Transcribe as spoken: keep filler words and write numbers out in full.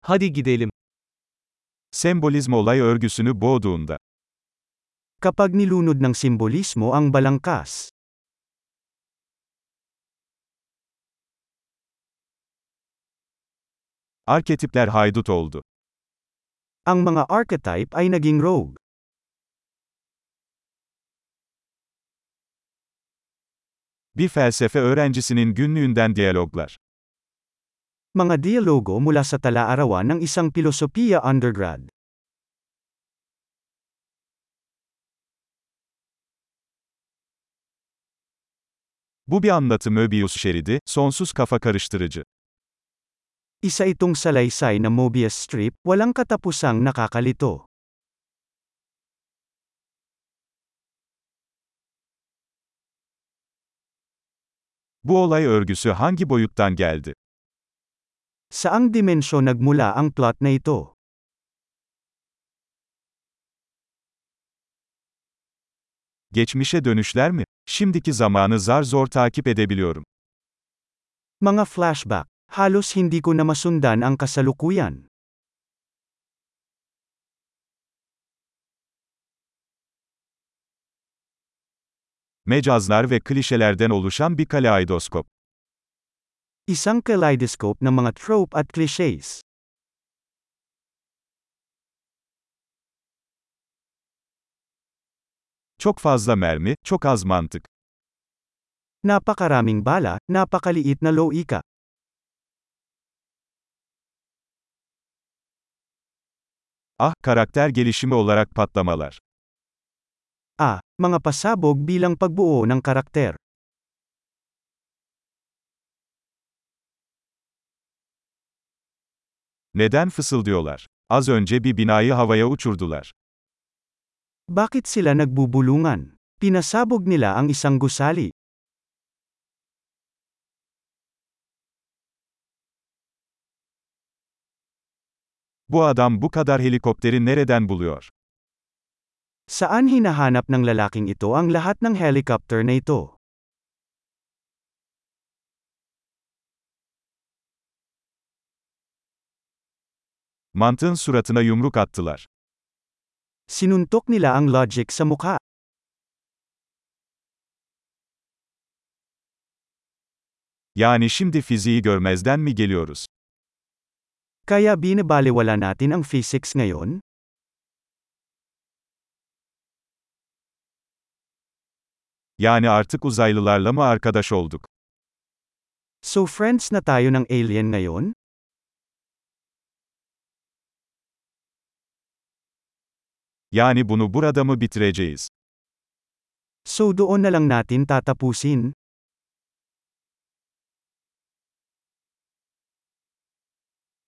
Hadi gidelim. Sembolizm olay örgüsünü boğduğunda. Kapag nilunod ng simbolismo ang balangkas. Arketipler haydut oldu. Ang mga archetype ay naging rogue. Bir felsefe öğrencisinin günlüğünden diyaloglar. Mga dialogo mula sa tala-arawan ng isang pilosopiya undergrad. Bu bir anlatı Möbius şeridi, sonsuz kafa karıştırıcı. Isa itong salaysay na Mobius strip, walang katapusang nakakalito. Bu olay örgüsü hangi boyuttan geldi? Saang dimensyon nagmula ang plot na ito? Geçmişe dönüşler mi? Şimdiki zamanı zar zor takip edebiliyorum. Mga flashback. Halos hindi ko na masundan ang kasalukuyan. Mecazlar ve klişelerden oluşan bir kaleidoskop. Isang kaleidoscope ng mga trope at clichés. Çok fazla mermi, çok az mantık. Napakaraming bala, napakaliit na loika. Ah, karakter gelişimi olarak patlamalar. Ah, mga pasabog bilang pagbuo ng karakter. Neden fısıldıyorlar? Az önce bir binayı havaya uçurdular. Bakit sila nagbubulungan? Pinasabog nila ang isang gusali. Bu adam bu kadar helikopteri nereden buluyor? Saan hinahanap ng lalaking ito ang lahat ng helicopter na ito? Mantığın suratına yumruk attılar. Sinuntok nila ang logic sa mukha. Yani şimdi fiziği görmezden mi geliyoruz? Kaya binabalewala natin ang physics ngayon? Yani artık uzaylılarla mı arkadaş olduk? So friends na tayo ng alien ngayon? Yani bunu burada mı bitireceğiz? So doon na lang natin tatapusin?